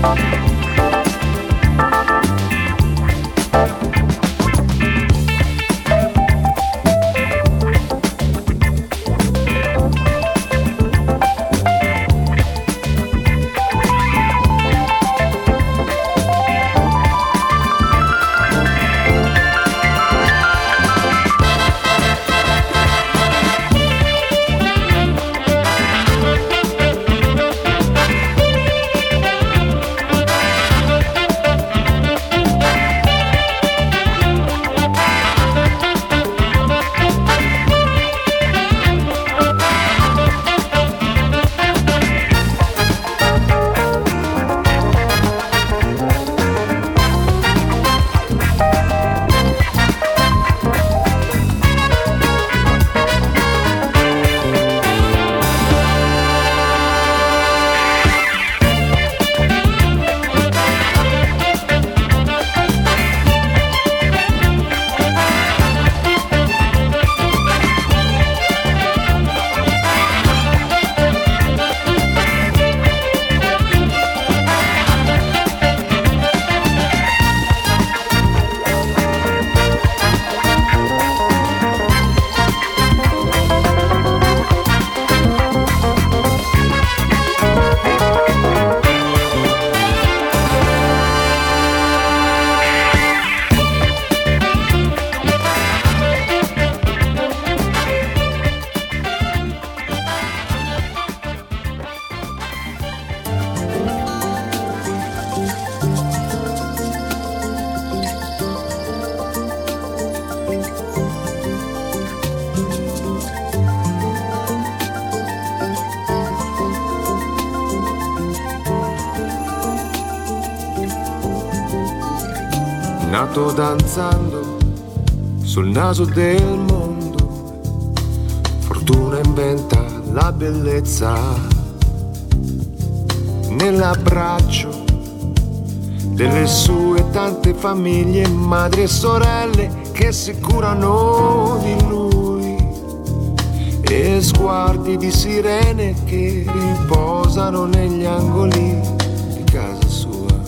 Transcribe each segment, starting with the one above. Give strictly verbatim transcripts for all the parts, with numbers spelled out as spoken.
Nato danzando sul naso del mondo, fortuna inventa la bellezza nell'abbraccio delle sue tante famiglie, madri e sorelle che si curano di lui, e sguardi di sirene che riposano negli angoli di casa sua.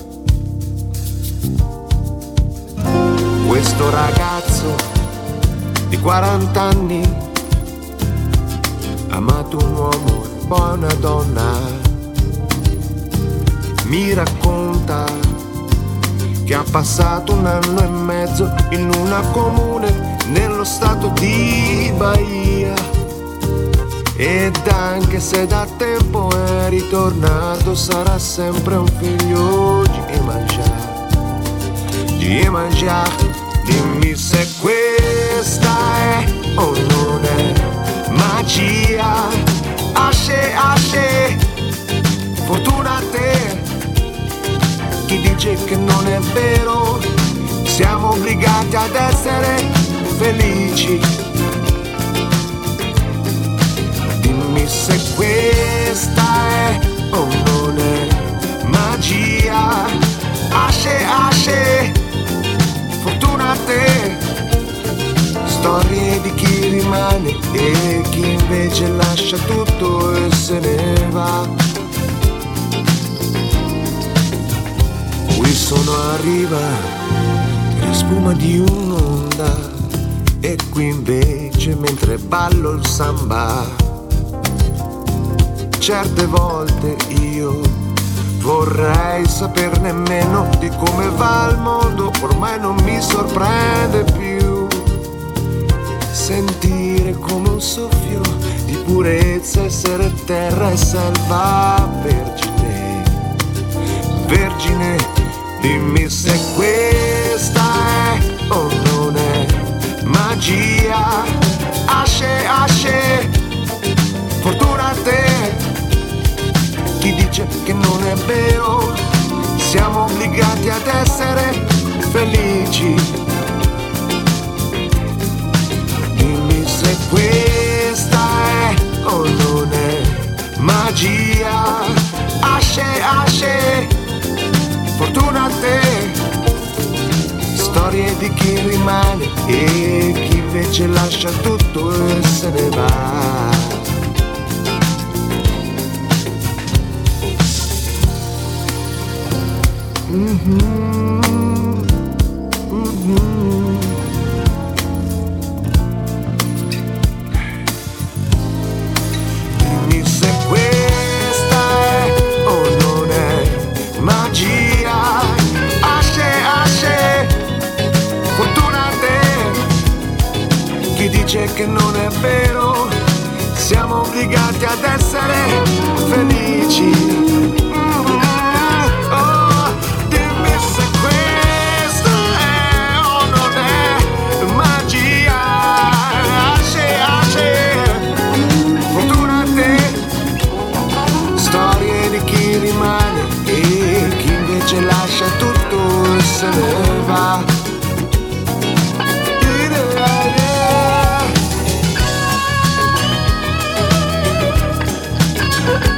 Questo ragazzo di quaranta anni ha amato un uomo e poi una donna, mi racconta che ha passato un anno e mezzo in una comune nello stato di Bahia, ed anche se da tempo è ritornato sarà sempre un figlio di Iemanjá, di Iemanjá. Dimmi se questa è o non è magia. Asce, asce, fortuna a te. Chi dice che non è vero, siamo obbligati ad essere felici. Dimmi se questa è o non è magia. Asce, asce, fortuna a te. Storie di chi rimane e chi invece lascia tutto e se ne va. Qui sono a riva della spuma di un'onda, e qui invece mentre ballo il samba, certe volte io vorrei saperne meno di come va il mondo, ormai non mi sorprende più sentire come un soffio di purezza essere terra e selva vergine, vergine. Dimmi se questa è o non è magia. Asce, asce, fortuna a te. Chi dice che non è vero, siamo obbligati ad essere felici. Dimmi se questa è o non è magia. Asce, asce, fortuna a te. Storie di chi rimane e chi invece lascia tutto e se ne va. Mm-hmm. Mm-hmm. Dimmi se questa è o non è magia. Asce, asce, fortuna a te. Chi dice che non è vero, siamo obbligati ad essere felici. Rimane e chi invece lascia tutto e se ne va. Yeah, yeah.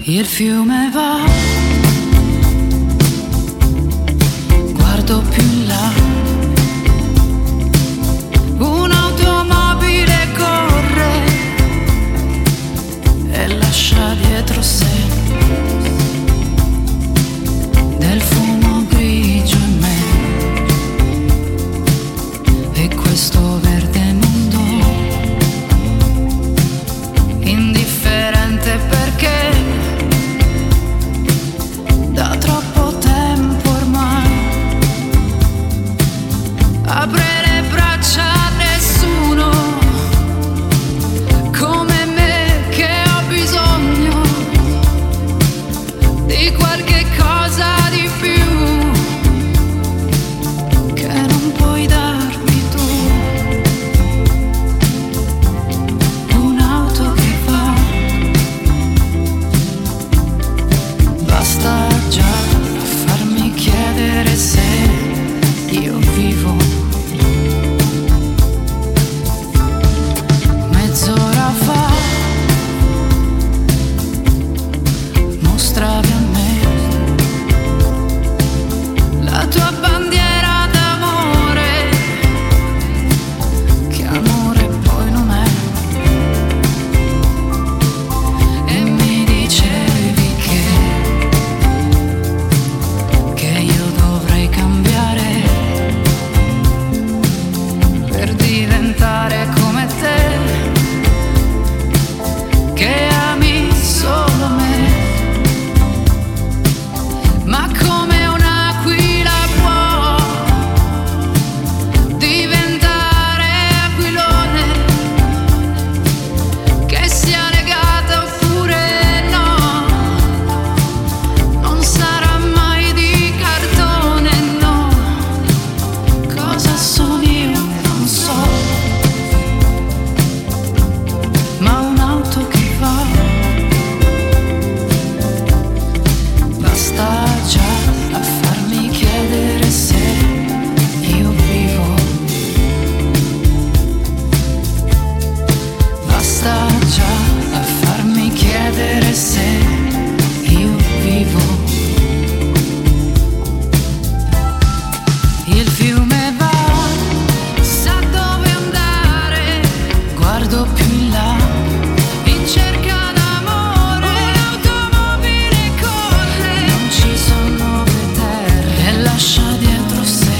Il fiume va, guardo più in là, un'automobile corre e lascia dietro sé del fumo grigio in me e questo verde mondo indifferente perché da troppo tempo ormai apre le braccia a nessuno come me che ho bisogno di qualche cosa di più che non puoi darmi tu. Un'auto che va, basta già a farmi chiedere se io vivo. Mezz'ora fa mostravi a me la tua bandiera d'amore, che amore poi non è, e mi dicevi che che io dovrei cambiare per diventare come te, che ami solo me, ma come un'aquila può diventare aquilone, che sia legata oppure no, non sarà mai di cartone, no. Cosa sono io? Non so, ma un'auto che va, basta già a farmi chiedere se io vivo. Basta già a farmi chiedere se io vivo. Il fiume va, sa dove andare, guardo più in là, in cerca d'amore. Un'automobile corre, non ci sono nuove terre, e lascia dietro sé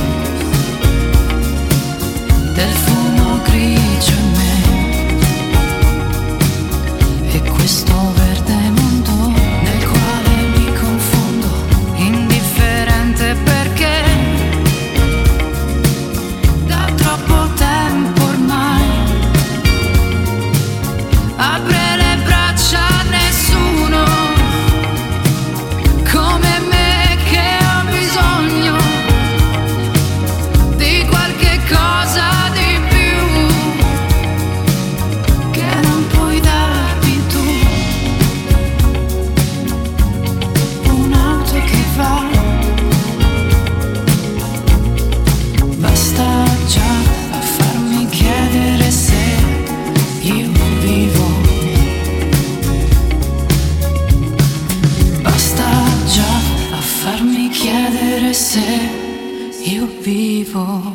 del fumo grigio in me e questo verde mondo nel quale mi confondo, indifferente perché da troppo tempo ormai apre le braccia a nessuno come me che ho bisogno di qualche cosa di più che non puoi darmi tu. Un'auto che va, basta già a farmi chiedere se io vivo. Basta già a farmi chiedere se io vivo.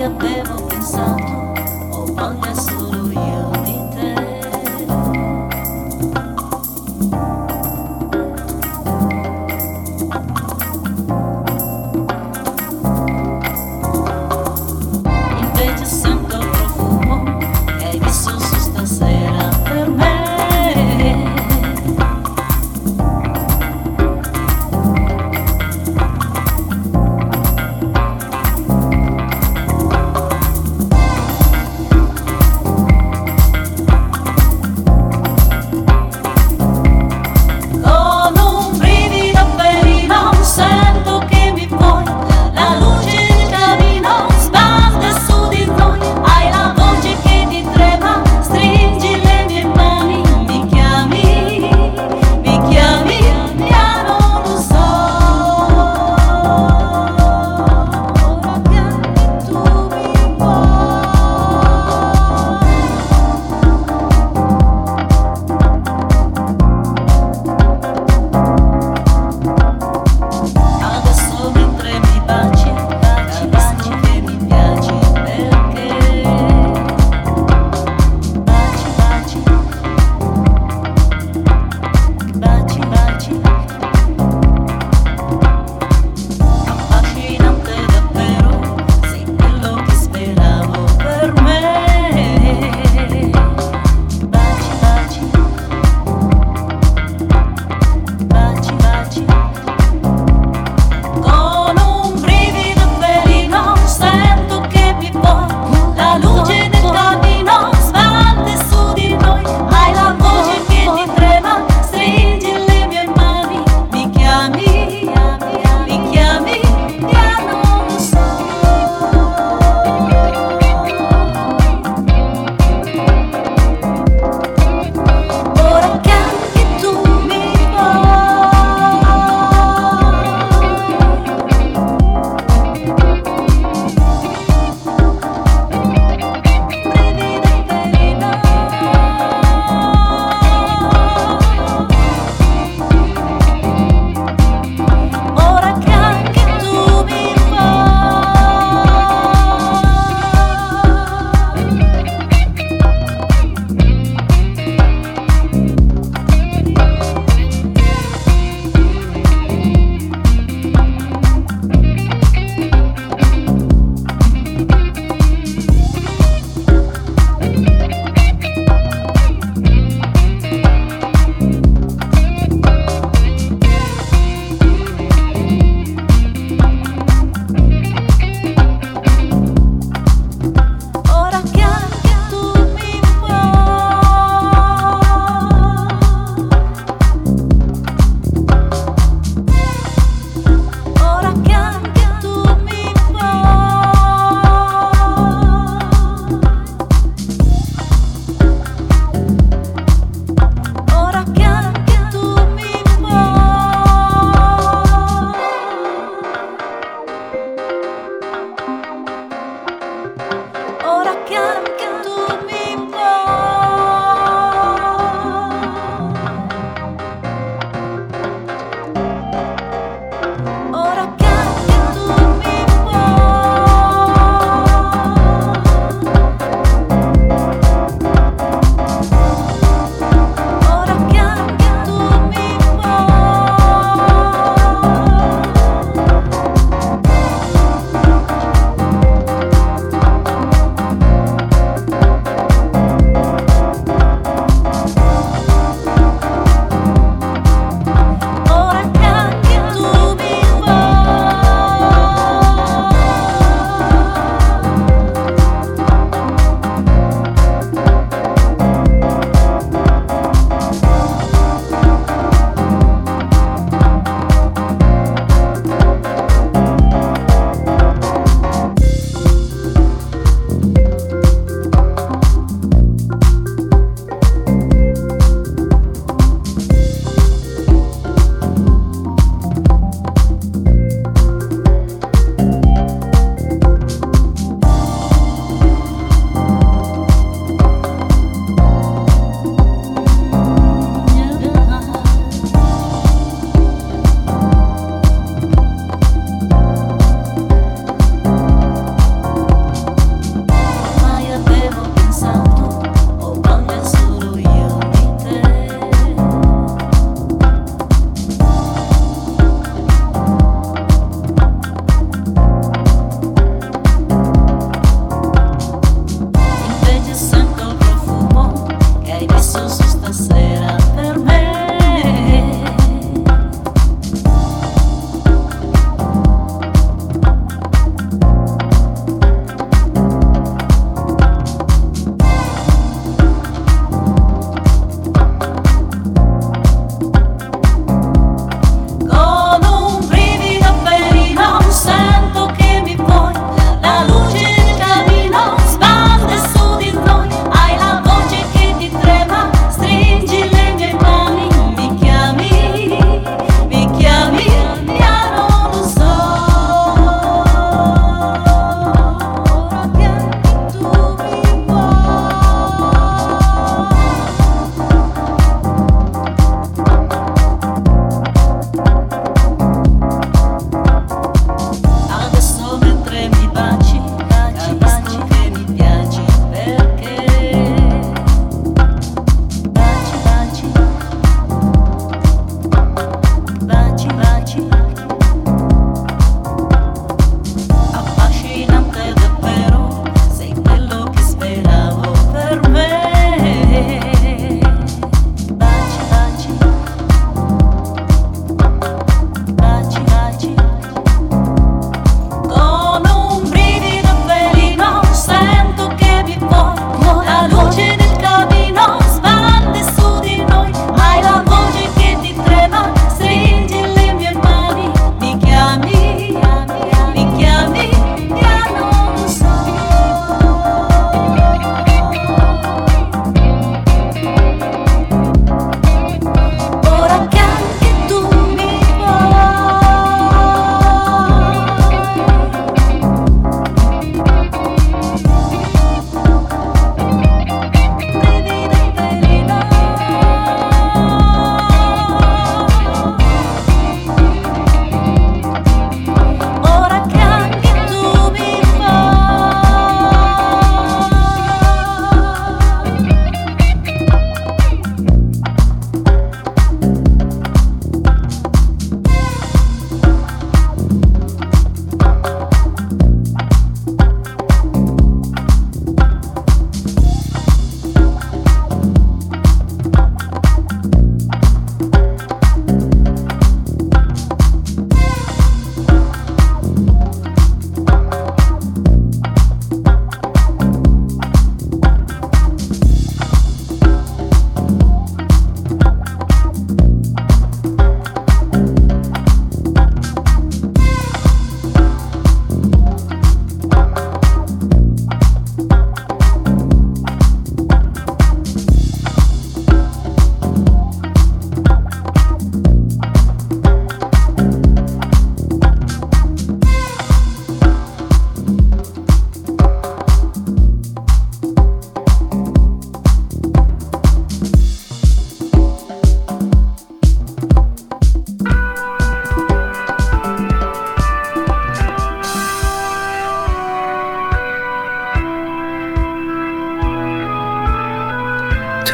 avevo pensato, ho voglia solo io di te. Invece sento profumo che hai messo su stasera per me.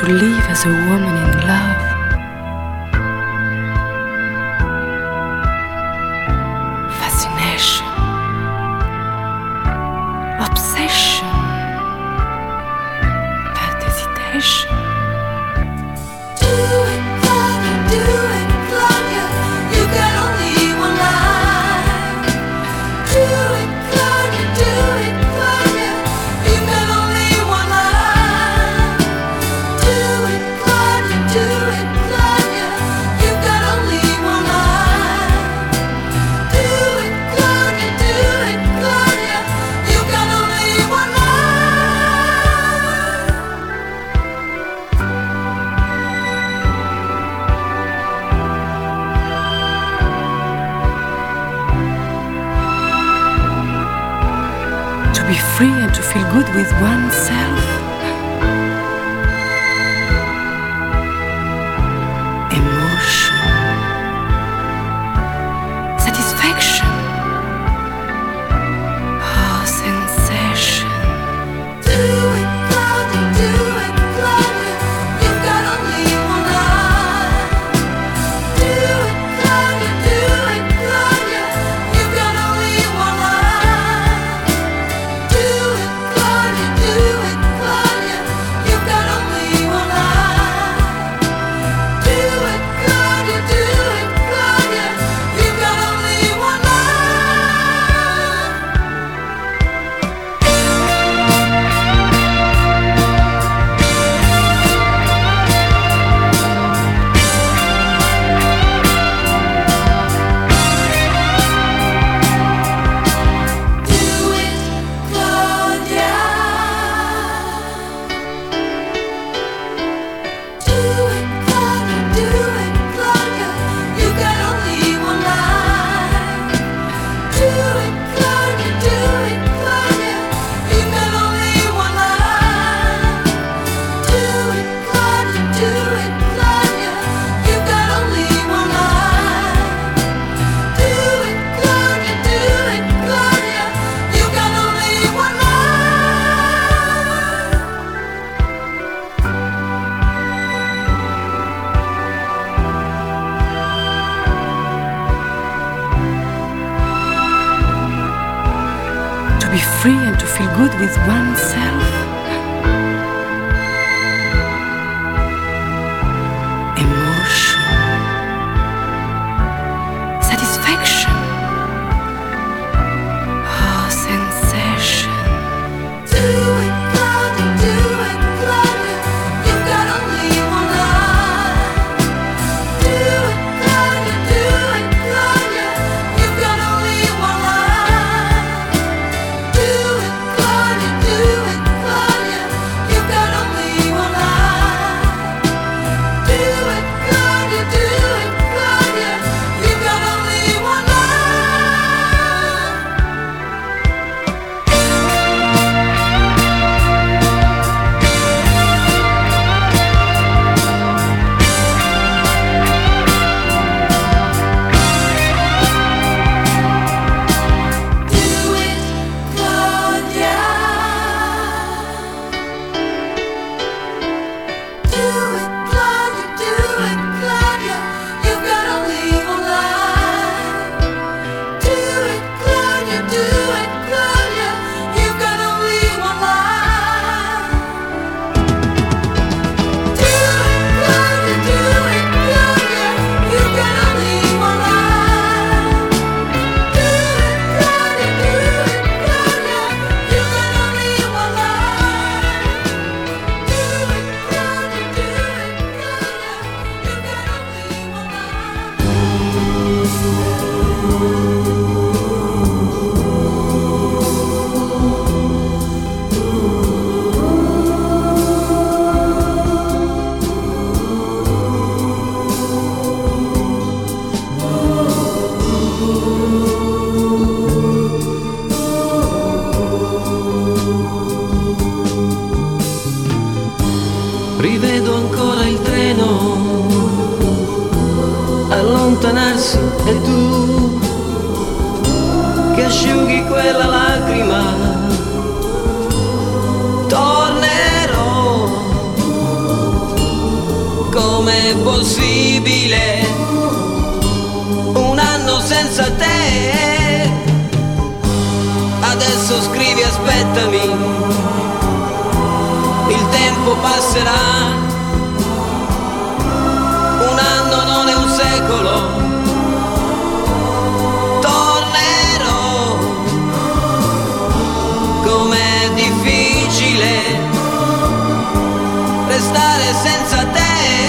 to live as a woman in love. Fascination, obsession, but hesitation. Do it, Claudia, do it, Claudia. You got only one life. Do it, Claudia, do it, Claudia. You got only one life. Do it, Claudia, do it, Claudia. You got only one life. Do it, Claudia, do it, Claudia. You got only one life. To be free and to feel good with oneself. Emotion, satisfaction, oh, sensation. Do it, Claudia, do it, Claudia. You got only one life. Do it, Claudia, do it, Claudia. You got only one life. Do it, Claudia, do it, Claudia. You got only one life. Do it, Claudia, do it, Claudia. You got only one life. Do it, Claudia. Do it, Claudia, do it, Claudia. You got only one life. Do it, Claudia, do it, Claudia. You got only one life. Do it, Claudia, do it, Claudia. You got only one life. Do it, Claudia, do it, Claudia. You got only one life. To be free and to feel good with oneself. Emotion, satisfaction, oh, sensation. Do it, Claudia, do it, Claudia. You got only one life. Do it, Claudia, do it, Claudia. You got only one life. Do it, Claudia, do it, Claudia. You got only one life. Do it, Claudia, do it, Claudia. You got only one life. Do it, Claudia. Do it, Claudia, do it, Claudia. You got only one life. Do it, Claudia, do it, Claudia. You got only one life. Do it, Claudia, do it, Claudia. You got only one life. Do it, Claudia, do it, Claudia. You got only one life. Do it, Claudia, do it, Claudia. You got only one life. Rivedo ancora il treno allontanarsi e tu che asciughi quella lacrima. Tornerò è possibile un anno senza te? Adesso scrivi aspettami, il tempo passerà, un anno non è un secolo. Tornerò, com'è difficile restare senza te.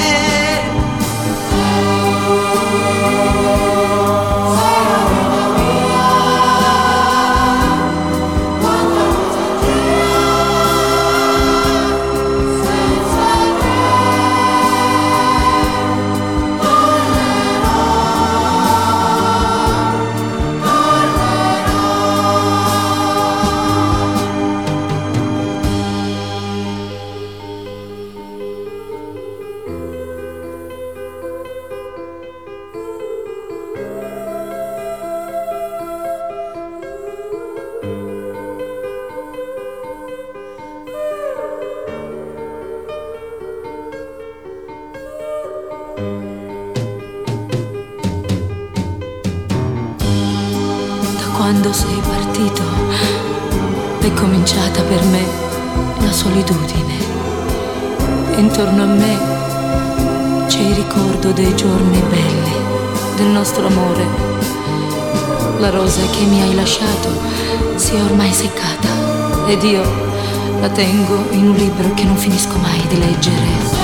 Quando sei partito è cominciata per me la solitudine. Intorno a me c'è il ricordo dei giorni belli, del nostro amore. La rosa che mi hai lasciato si è ormai seccata ed io la tengo in un libro che non finisco mai di leggere.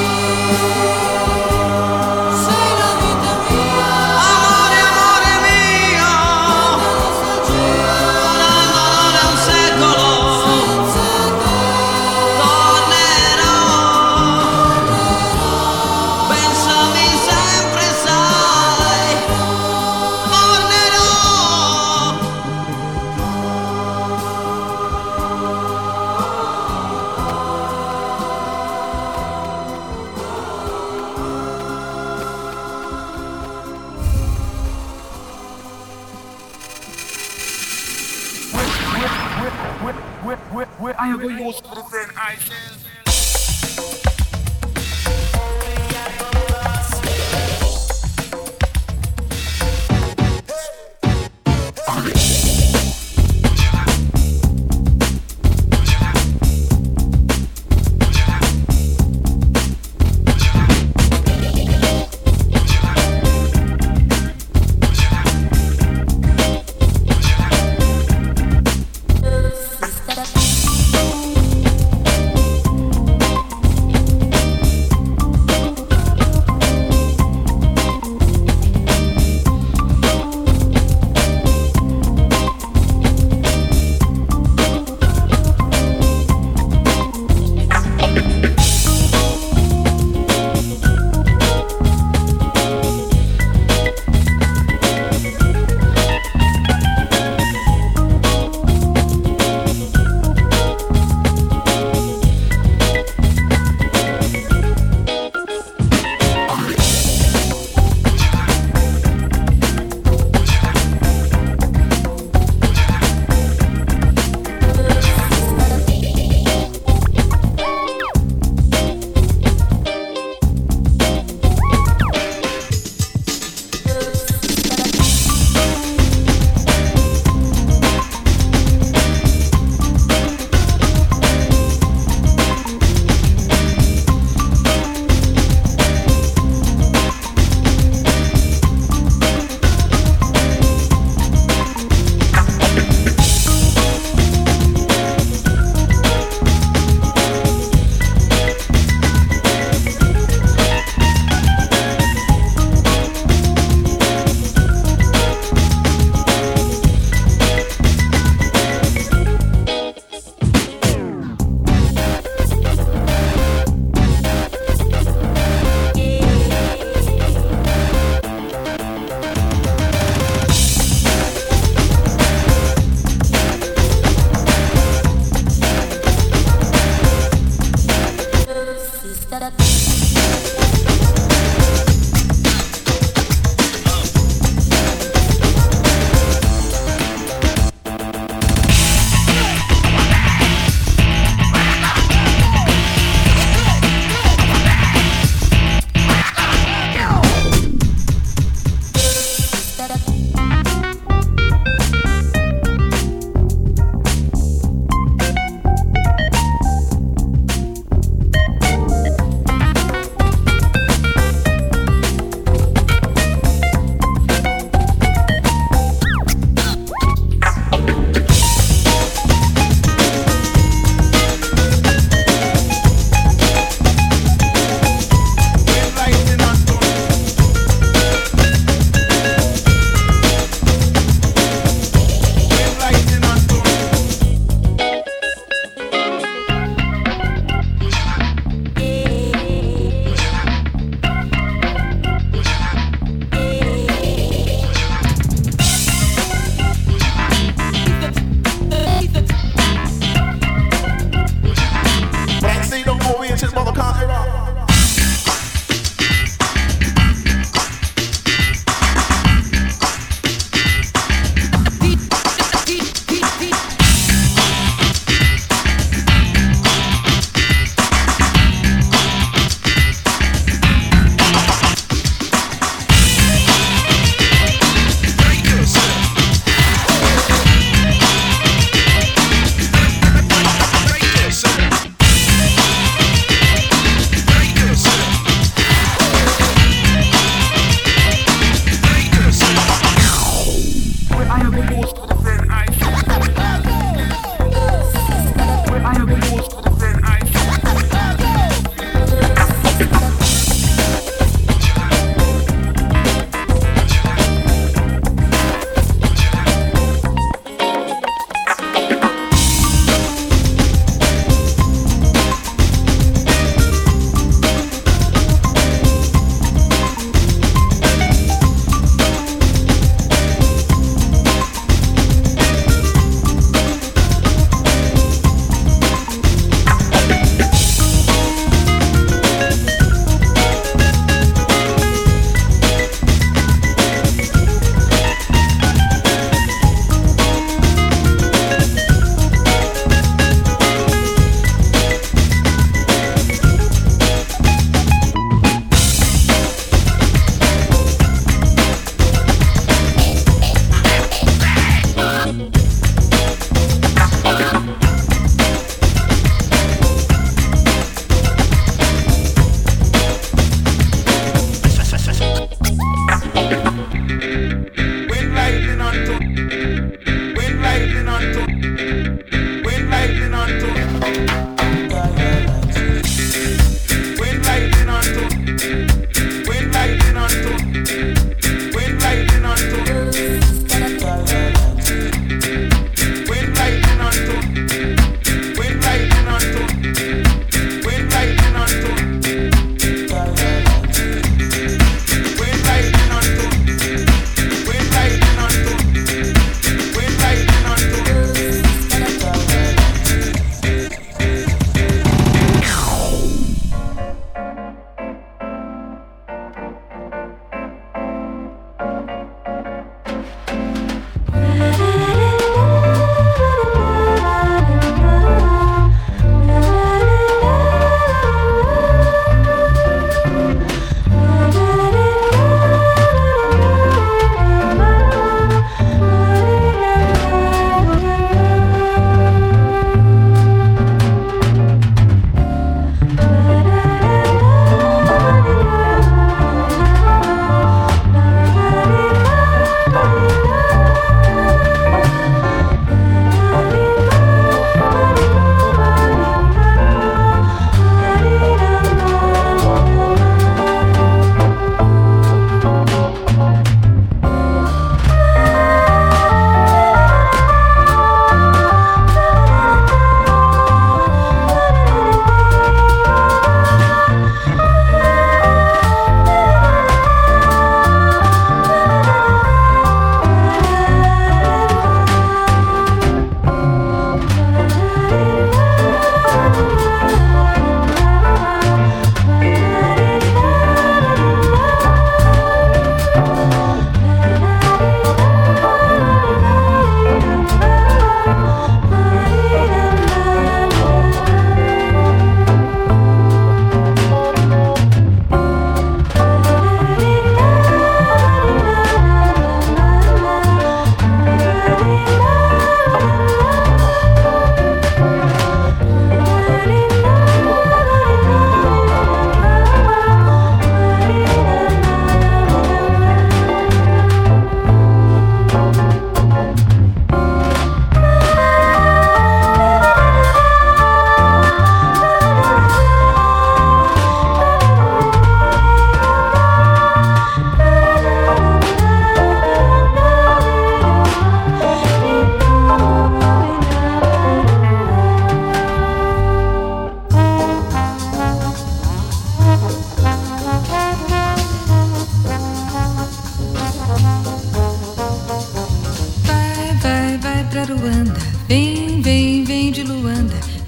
I will use for the ice.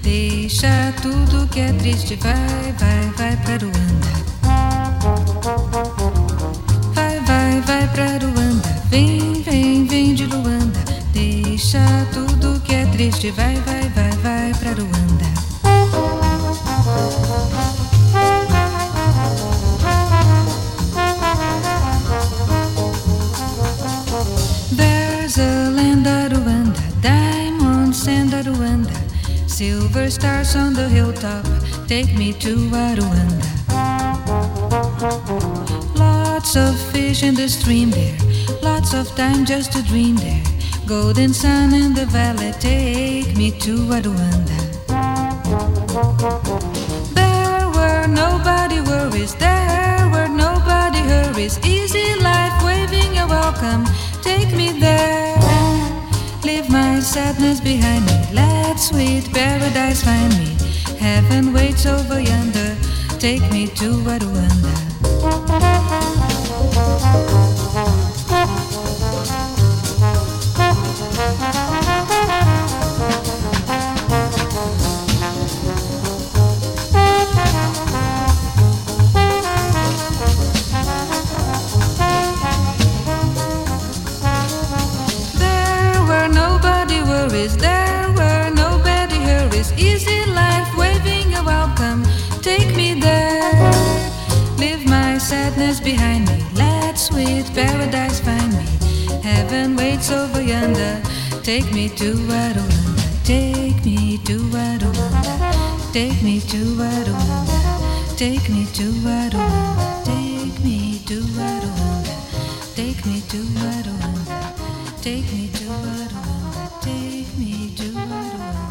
Deixa tudo que é triste, vai, vai, vai pra Ruanda. Vai, vai, vai pra Ruanda. Vem, vem, vem de Luanda. Deixa tudo que é triste, vai, vai, vai, vai pra Ruanda. There's a land at Ruanda, diamond sand at Ruanda, silver stars on the hilltop, take me to Rwanda. Lots of fish in the stream there, lots of time just to dream there. Golden sun in the valley, take me to Rwanda. There were nobody worries, there were nobody hurries. Easy life, waving a welcome, take me there. Leave my sadness behind me, let sweet paradise find me. Heaven waits over yonder, take me to Rwanda. There were nobody hurries, easy life, waving a welcome, take me there. Leave my sadness behind me, let sweet paradise find me. Heaven waits over yonder, take me to Rwanda, take me to Rwanda, take me to Rwanda, take me to Rwanda, take me to Rwanda, take me to Rwanda, take me to Rwanda. Take me to Rwanda.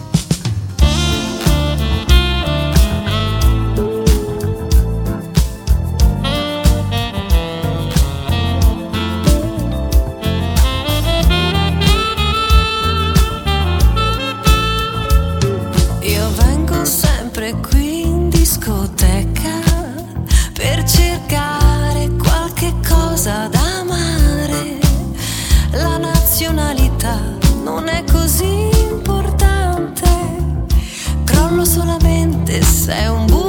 Io vengo sempre qui in discoteca per cercare qualche cosa da amare. La nazionalità non è così importante, crollo solamente se è un buco